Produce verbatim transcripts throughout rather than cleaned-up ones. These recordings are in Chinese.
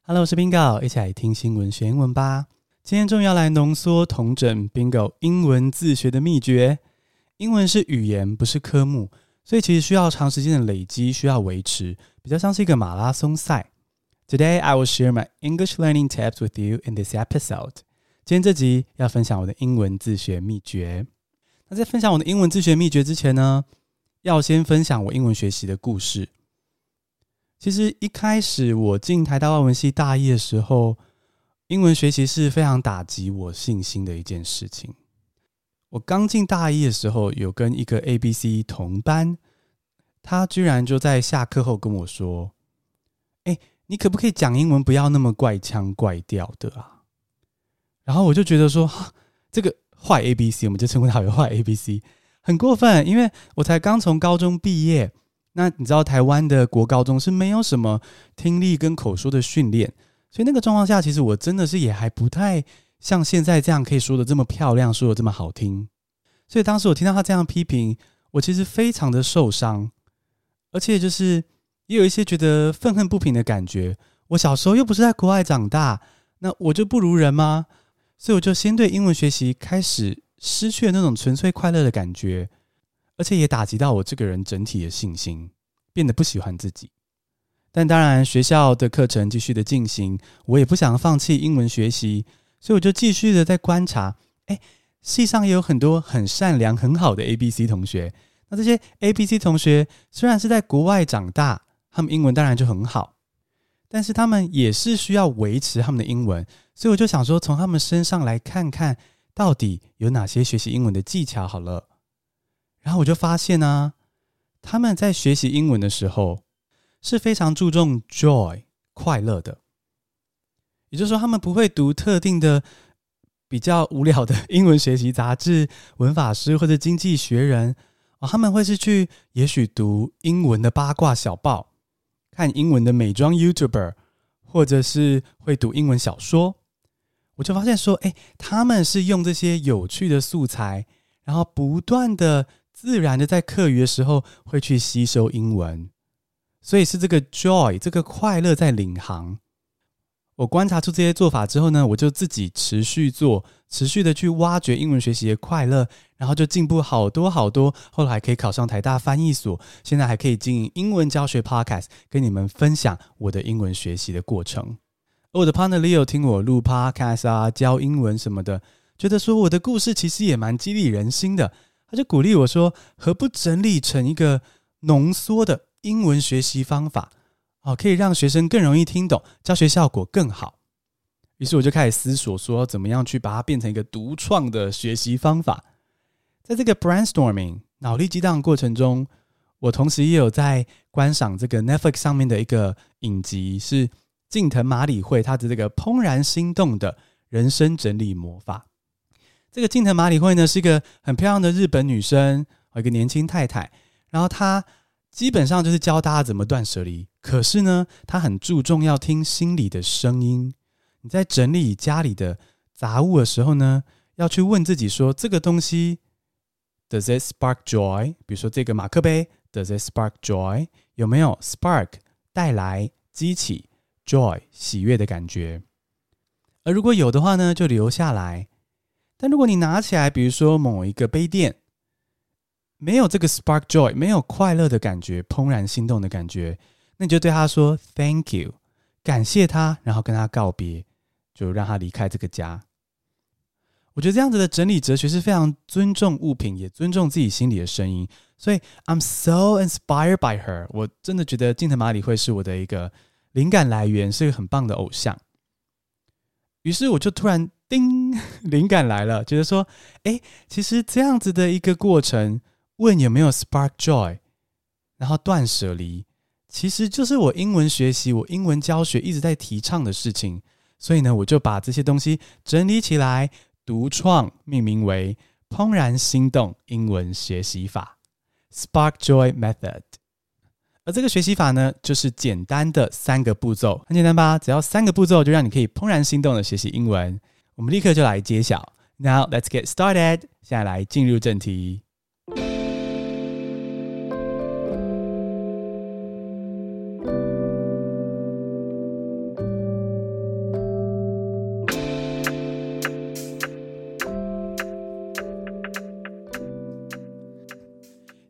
Hello， 我是 Bingo， 一起來聽新聞學英文吧。今天終於要來濃縮統整 Bingo 英文自學的祕訣。英文是語言，不是科目，所以其實需要長時間的累積，需要維持，比較像是一個馬拉松賽。Today I will share my English learning tips with you in this episode。今天這集要分享我的英文自學祕訣。那在分享我的英文自學祕訣之前呢，要先分享我英文學習的故事。其實一開始我進台大外文系大一的時候，英文學習是非常打擊我信心的一件事情。我剛進大一的時候，有跟一個 A B C 同班，他居然就在下課後跟我說：“欸，你可不可以講英文不要那麼怪腔怪調的啊？”然後我就覺得說，這個壞 A B C， 我們就稱呼他為壞 A B C， 很過分，因為我才剛從高中畢業。那你知道台灣的國高中是沒有什麼聽力跟口說的訓練，所以那個狀況下，其實我真的是也還不太像現在這樣可以說的這麼漂亮，說的這麼好聽。所以當時我聽到他這樣批評，我其實非常的受傷，而且就是也有一些覺得憤恨不平的感覺。我小時候又不是在國外長大，那我就不如人嗎？所以我就先對英文學習開始失去了那種純粹快樂的感覺。而且也打擊到我這個人整體的信心，變得不喜歡自己。但當然，學校的課程繼續的進行，我也不想放棄英文學習，所以我就繼續的在觀察。哎，系上也有很多很善良、很好的 A B C 同學。那這些 A B C 同學雖然是在國外長大，他們英文當然就很好，但是他們也是需要維持他們的英文。所以我就想說，從他們身上來看看，到底有哪些學習英文的技巧好了。然後我就發現啊，他們在學習英文的時候是非常注重 joy 快樂的，也就是說，他們不會讀特定的比較無聊的英文學習雜誌、文法書或者經濟學人，哦，他們會是去也許讀英文的八卦小報，看英文的美妝 YouTuber， 或者是會讀英文小說。我就發現說，哎，他們是用這些有趣的素材，然後不斷的自然的在課餘的時候會去吸收英文，所以是這個 joy 這個快樂在領航。我觀察出這些做法之後呢，我就自己持續做，持續的去挖掘英文學習的快樂，然後就進步好多好多，後來還可以考上台大翻譯所，現在還可以經營英文教學 podcast， 跟你們分享我的英文學習的過程。而我的 partner Leo 聽我錄 podcast 啊，教英文什麼的，覺得說我的故事其實也蠻激勵人心的。他就鼓勵我說，何不整理成一個濃縮的英文學習方法，哦，可以讓學生更容易聽懂，教學效果更好。於是我就開始思索說，怎麼樣去把它變成一個獨創的學習方法。在這個 brainstorming 腦力激盪的過程中，我同時也有在觀賞這個 Netflix 上面的一個影集，是近藤麻里惠她的這個怦然心動的人生整理魔法。這個近藤麻里惠呢，是一個很漂亮的日本女生，一個年輕太太。然後她基本上就是教大家怎麼斷捨離，可是呢，她很注重要聽心裡的聲音。你在整理家裡的雜物的時候呢，要去問自己說，這個東西 Does it spark joy？ 比如說這個馬克杯 Does it spark joy？ 有沒有 spark 帶來激起 joy 喜悅的感覺？而如果有的話呢，就留下來。但如果你拿起來，比如說某一個杯墊，沒有這個 spark joy， 沒有快樂的感覺，怦然心動的感覺，那你就對他說 thank you， 感謝他，然後跟他告別，就讓他離開這個家。我覺得這樣子的整理哲學是非常尊重物品，也尊重自己心裡的聲音。所以 I'm so inspired by her， 我真的覺得近藤麻里惠是我的一個靈感來源，是一個很棒的偶像。於是我就突然叮，靈感來了，覺得說，誒，其實這樣子的一個過程，問有沒有 spark joy， 然後斷捨離，其實就是我英文學習、我英文教學一直在提倡的事情。所以呢，我就把這些東西整理起來，獨創命名為怦然心動英文學習法 Spark Joy Method。而這個學習法呢，就是簡單的三個步驟，很簡單吧？只要三個步驟，就讓你可以怦然心動的學習英文。我們立刻就來揭曉。Now let's get started。現在來進入正題。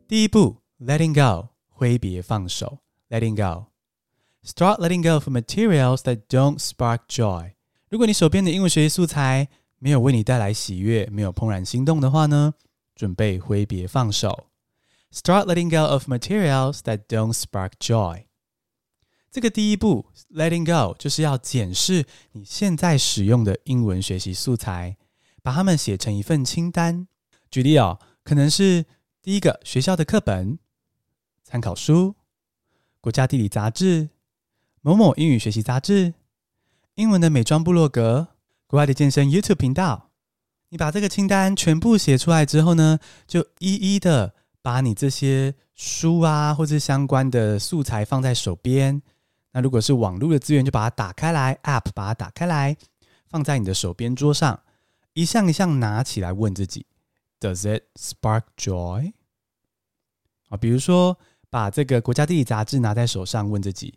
第一步 letting go 揮別放手 letting go Start letting go of materials that don't spark joy 如果你手邊的英文學習素材沒有為你帶來喜悅，沒有怦然心動的話呢，準備揮別放手 Start letting go of materials that don't spark joy 這個第一步 letting go 就是要檢視你現在使用的英文學習素材，把它們寫成一份清單。舉例哦，可能是第一個學校的課本、參考書、國家地理雜誌、某某英語學習雜誌、英文的美妝部落格、國外的健身 YouTube 頻道。你把這個清單全部寫出來之後呢，就一一的把你這些書啊或者相關的素材放在手邊。那如果是網絡的資源，就把它打開來 App 把它打開來，放在你的手邊桌上，一項一項拿起來問自己 Does it spark joy？ 比如說把這個國家地理雜誌拿在手上問自己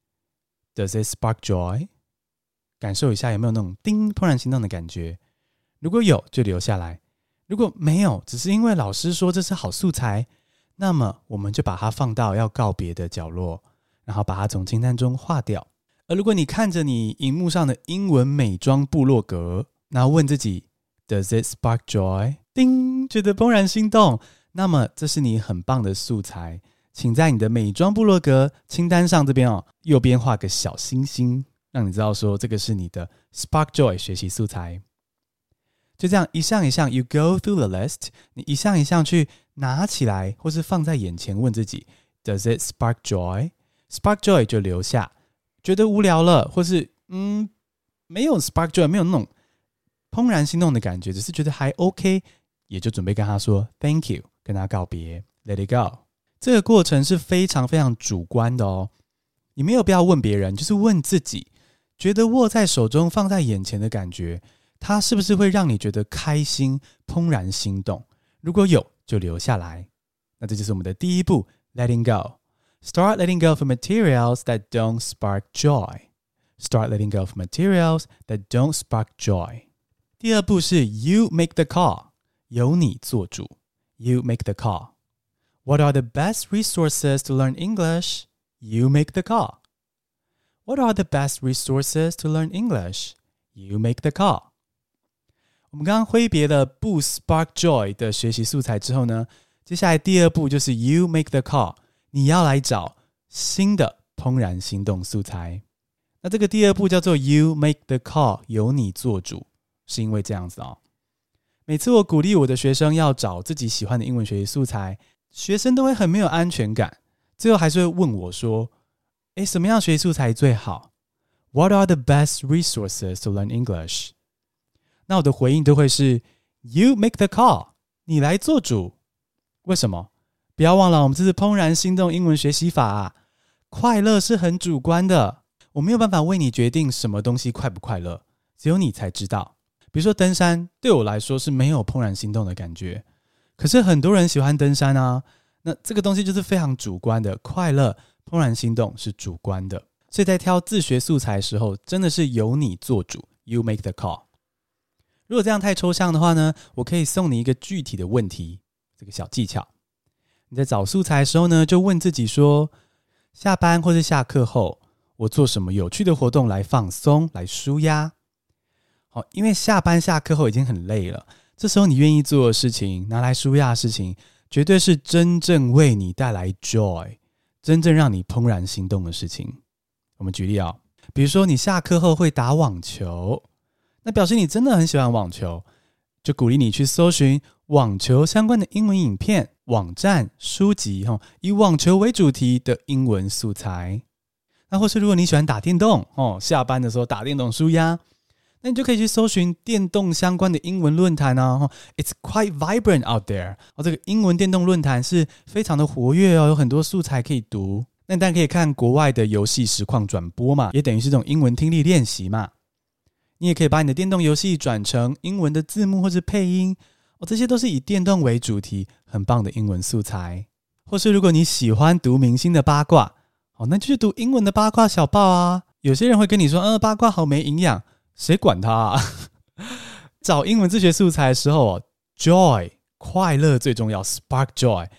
Does it spark joy？ 感受一下有沒有那種叮怦然心動的感覺，如果有就留下來，如果沒有，只是因為老師說這是好素材，那麼我們就把它放到要告別的角落，然後把它從清單中劃掉。而如果你看着你熒幕上的英文美妝部落格，然後問自己 Does it spark joy？ 叮，覺得怦然心動，那麼這是你很棒的素材，請在你的美妝部落格清單上這邊哦，右邊畫個小星星，讓你知道說這個是你的 spark joy 學習素材。就這樣一項一項 you go through the list， 你一項一項去拿起來或是放在眼前問自己 Does it spark joy？ Spark joy 就留下，覺得無聊了或是嗯沒有 spark joy， 沒有那種怦然心動的感覺，只是覺得還 OK， 也就準備跟他說 Thank you， 跟他告別 Let it go。 這個過程是非常非常主觀的哦，你沒有必要問別人，就是問自己，覺得握在手中放在眼前的感覺，它是不是會讓你覺得開心怦然心動？如果有就留下來。那這就是我們的第一步 Letting go。 Start letting go of materials that don't spark joy. Start letting go of materials that don't spark joy. 第二步是 You make the call. 由你做主。 You make the call. What are the best resources to learn English? You make the call. What are the best resources to learn English? You make the call. 我們剛剛揮別了不 spark joy 的學習素材之後呢，接下來第二步就是 You make the call， 你要來找新的怦然心動素材。那這個第二步叫做 You make the call， 由你做主，是因為這樣子哦。每次我鼓勵我的學生要找自己喜歡的英文學習素材，學生都會很沒有安全感，最後還是會問我說，誒，什麼樣學習素材最好？ What are the best resources to learn English？那我的回應都會是 You make the call， 你來做主。為什麼？不要忘了，我們這是怦然心動英文學習法啊，快樂是很主觀的，我沒有辦法為你決定什麼東西快不快樂，只有你才知道。比如說登山，對我來說是沒有怦然心動的感覺，可是很多人喜歡登山啊，那這個東西就是非常主觀的，快樂怦然心動是主觀的，所以在挑自學素材的時候，真的是由你做主 You make the call。如果這樣太抽象的話呢，我可以送你一個具體的問題，這個小技巧。你在找素材的時候呢，就問自己說，下班或是下課後，我做什麼有趣的活動來放鬆，來抒壓？好，因為下班下課後已經很累了，這時候你願意做的事情，拿來抒壓的事情，絕對是真正為你帶來 joy， 真正讓你怦然心動的事情。我們舉例啊、哦，比如說你下課後會打網球，那表示你真的很喜歡網球，就鼓勵你去搜尋網球相關的英文影片、網站、書籍，以網球為主題的英文素材。那或是如果你喜歡打電動，下班的時候打電動抒壓，那你就可以去搜尋電動相關的英文論壇啊。It's quite vibrant out there。這個英文電動論壇是非常的活躍哦，有很多素材可以讀。那你當然可以看國外的遊戲實況轉播嘛，也等於是這種英文聽力練習嘛。你也可以把你的電動遊戲轉成英文的字幕或是配音，哦，這些都是以電動為主題，很棒的英文素材。或是如果你喜歡讀明星的八卦，哦，那就去讀英文的八卦小報啊。有些人會跟你說，呃，八卦好沒營養，誰管他啊？找英文自學素材的時候，哦，joy 快樂最重要 ，spark joy，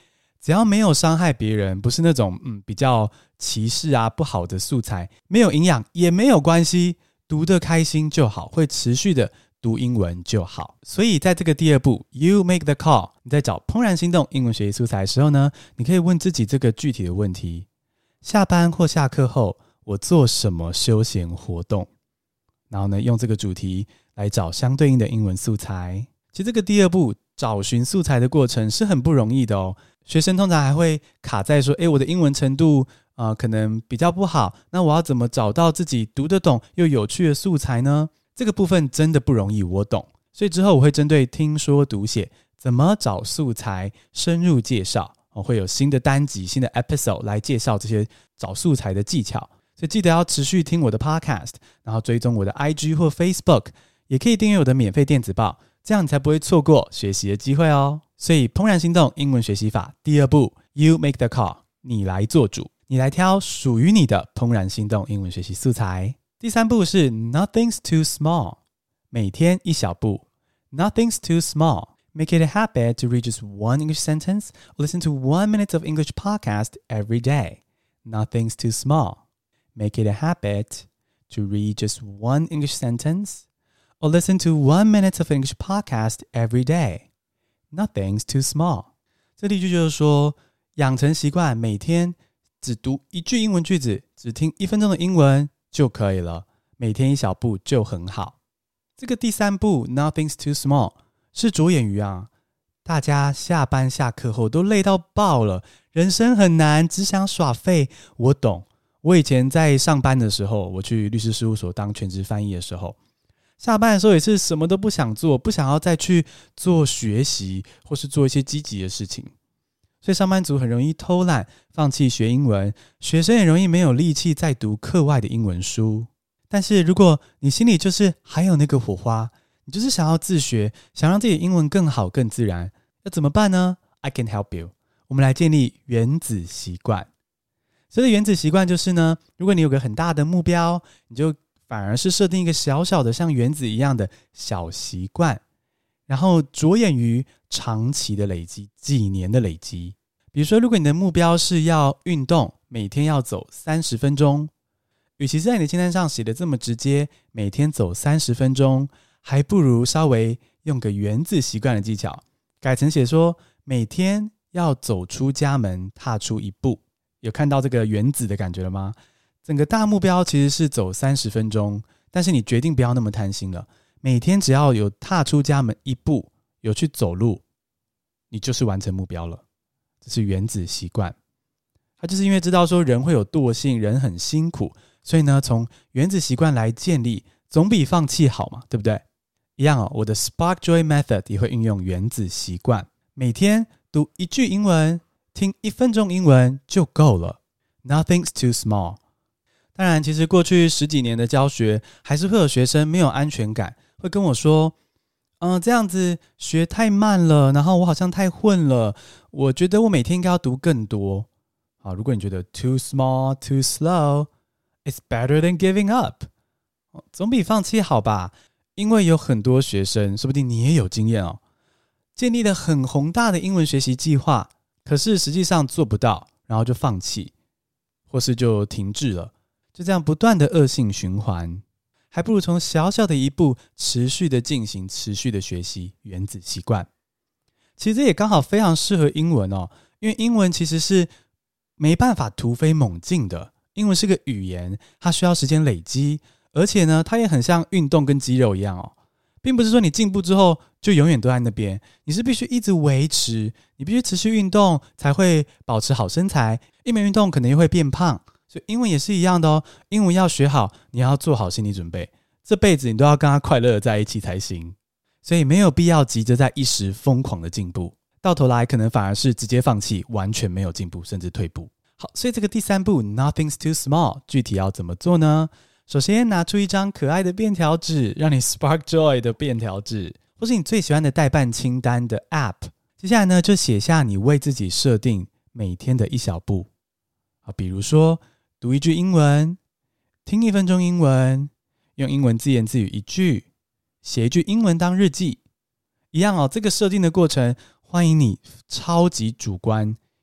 只要沒有傷害別人，不是那種嗯比較歧視啊不好的素材，沒有營養也沒有關係，讀得開心就好，會持續的讀英文就好。所以在這個第二步 You make the call， 你在找怦然心動英文學習素材的時候呢，你可以問自己這個具體的問題：下班或下課後我做什麼休閒活動？然後呢，用這個主題來找相對應的英文素材。其實這個第二步找尋素材的過程是很不容易的哦。學生通常還會卡在說，誒，我的英文程度呃可能比較不好，那我要怎麼找到自己讀得懂又有趣的素材呢？這個部分真的不容易，我懂。所以之後我會針對聽說讀寫怎麼找素材深入介紹，我會有新的單集、新的 episode 來介紹這些找素材的技巧。所以記得要持續聽我的 podcast， 然後追蹤我的 I G 或 Facebook， 也可以訂閱我的免費電子報，這樣你才不會錯過學習的機會哦。所以怦然心動英文學習法第二步 You make the call， 你來做主，你來挑屬於你的怦然心動英文學習素材。第三步是 Nothing's too small， 每天一小步。 Nothing's too small， Make it a habit to read just one English sentence or listen to one minute of English podcast every day. Nothing's too small, Make it a habit to read just one English sentence or listen to one minute of English podcast every day.Nothing's too small。 這例句就是說，養成習慣，每天只讀一句英文句子，只聽一分鐘的英文就可以了，每天一小步就很好。這個第三步 Nothing's too small 是着眼於啊，大家下班下課後都累到爆了，人生很難，只想耍廢。我懂，我以前在上班的時候，我去律師事務所當全職翻譯的時候，下班的時候也是什麼都不想做，不想要再去做學習或是做一些積極的事情。所以上班族很容易偷懶，放棄學英文，學生也容易沒有力氣再讀課外的英文書。但是如果你心裡就是還有那個火花，你就是想要自學，想讓自己的英文更好更自然，要怎麼辦呢？ I can help you。 我們來建立原子習慣。所以原子習慣就是呢，如果你有個很大的目標，你就反而是設定一個小小的像原子一樣的小習慣，然後着眼於長期的累積，幾年的累積。比如說，如果你的目標是要運動，每天要走三十分鐘，與其在你的清單上寫的這麼直接，每天走三十分鐘，還不如稍微用個原子習慣的技巧，改成寫說每天要走出家門，踏出一步。有看到這個原子的感覺了嗎？整個大目標其實是走三十分鐘，但是你決定不要那麼貪心了，每天只要有踏出家門一步，有去走路，你就是完成目標了。這是原子習慣。他就是因為知道說人會有惰性，人很辛苦，所以呢，從原子習慣來建立，總比放棄好嘛，對不對？一樣哦，我的 Spark Joy Method 也會運用原子習慣，每天讀一句英文，聽一分鐘英文就夠了。Nothing's too small。當然，其實過去十幾年的教學，還是會有學生沒有安全感，會跟我說，嗯、呃，這樣子學太慢了，然後我好像太混了，我覺得我每天應該要讀更多。好，如果你覺得 too small, too slow, it's better than giving up。總比放棄好吧？因為有很多學生，說不定你也有經驗哦，建立了很宏大的英文學習計劃，可是實際上做不到，然後就放棄，或是就停滯了。就這樣不斷的惡性循環，還不如從小小的一步持續的進行，持續的學習原子習慣。其實這也剛好非常適合英文哦，因為英文其實是沒辦法突飛猛進的，英文是個語言，它需要時間累積，而且呢，它也很像運動跟肌肉一樣哦，並不是說你進步之後就永遠都在那邊，你是必須一直維持，你必須持續運動才會保持好身材，一沒運動可能又會變胖。所以英文也是一樣的哦，英文要學好，你要做好心理準備，這輩子你都要跟他快樂的在一起才行。所以沒有必要急着在一時瘋狂的進步，到頭來可能反而是直接放棄，完全沒有進步，甚至退步。好，所以這個第三步 Nothing's too small 具體要怎麼做呢？首先拿出一張可愛的便條紙，讓你 Spark Joy 的便條紙，或是你最喜歡的待辦清單的 App。接下來呢，就寫下你為自己設定每天的一小步。好，比如說讀一句英文，聽一分鐘英文，用英文自言自語一句，寫一句英文當日記。一樣哦，這個設定的過程，歡迎你超級主觀，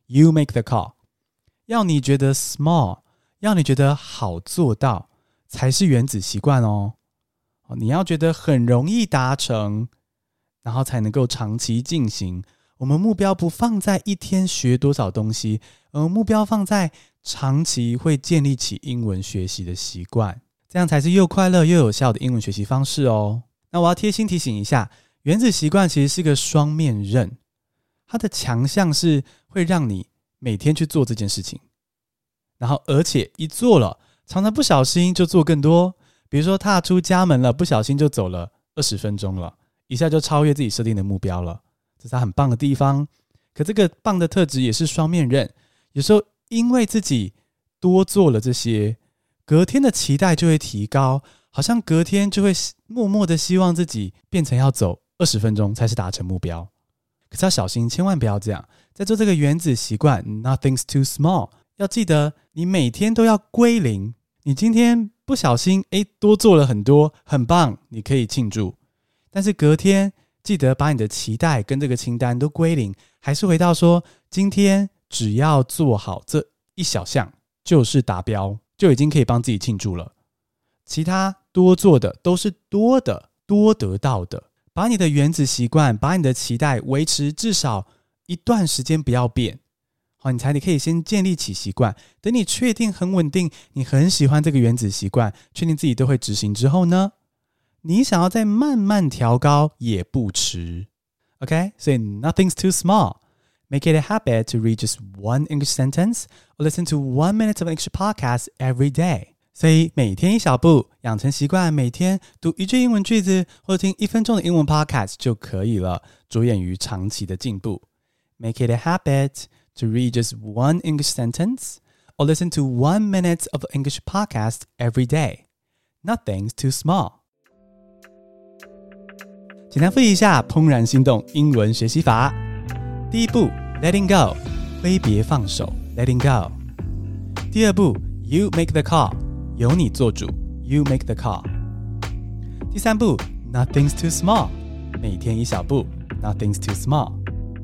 You make the call。要你覺得 small， 要你覺得好做到，才是原子習慣哦。你要覺得很容易達成，然後才能夠長期進行。我們目標不放在一天學多少東西，而目標放在長期會建立起英文學習的習慣，這樣才是又快樂又有效的英文學習方式哦。那我要貼心提醒一下，原子習慣其實是個雙面刃，它的強項是會讓你每天去做這件事情，然後而且一做了，常常不小心就做更多。比如說踏出家門了，不小心就走了二十分鐘了，一下就超越自己設定的目標了，這是它很棒的地方。可這個棒的特質也是雙面刃，有時候因為自己多做了這些，隔天的期待就會提高，好像隔天就會默默的希望自己變成要走二十分鐘才是達成目標。可是要小心，千萬不要這樣。在做這個原子習慣 Nothing's too small， 要記得你每天都要歸零。你今天不小心誒多做了很多，很棒，你可以慶祝。但是隔天記得把你的期待跟這個清單都歸零，還是回到說今天只要做好這一小項就是達標，就已經可以幫自己慶祝了。其他多做的都是多的，多得到的。把你的原子習慣，把你的期待維持至少一段時間不要變，好，你才你可以先建立起習慣。等你確定很穩定，你很喜歡這個原子習慣，確定自己都會執行之後呢，你想要再慢慢調高也不遲。OK， 所以 nothing's too small. Make it a habit to read just one English sentence or listen to one minute of an English podcast every day. 所以每天一小步，養成習慣，每天讀一句英文句子或者聽一分鐘的英文 podcast 就可以了，着眼於長期的進步。Make it a habit to read just one English sentence or listen to one minute of an English podcast every day. Nothing's too small. 簡單複習一下怦然心動英文學習法。第一步 Letting go 揮別放手 Letting go。 第二步 You make the call 由你做主 You make the call。 第三步 Nothing's too small 每天一小步 Nothing's too small。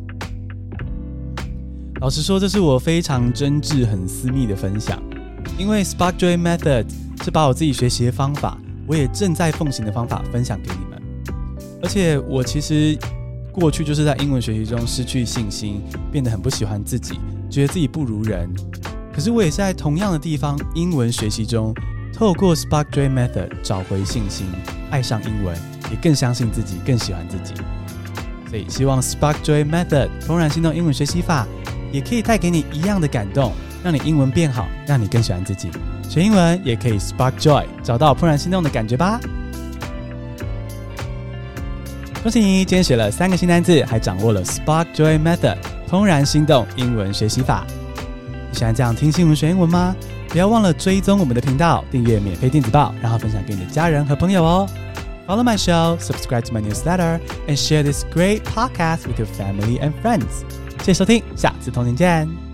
老實說，這是我非常真摯很私密的分享，因為 Spark Joy Method 是把我自己學習的方法，我也正在奉行的方法分享給你們。而且我其實過去就是在英文學習中失去信心，變得很不喜歡自己，覺得自己不如人。可是我也是在同樣的地方英文學習中，透過 Spark Joy Method 找回信心，愛上英文，也更相信自己，更喜歡自己。所以希望 Spark Joy Method 怦然心動英文學習法也可以帶給你一樣的感動，讓你英文變好，讓你更喜歡自己。學英文也可以 Spark Joy， 找到怦然心動的感覺吧。恭喜你，今天學了三個新單字，還掌握了 Spark Joy Method 怦然心動英文學習法。你喜歡這樣聽新聞學英文嗎？不要忘了追蹤我們的頻道，訂閱免費電子報，然後分享給你的家人和朋友哦。Follow my show, subscribe to my newsletter, and share this great podcast with your family and friends. 謝謝收聽，下次同您見。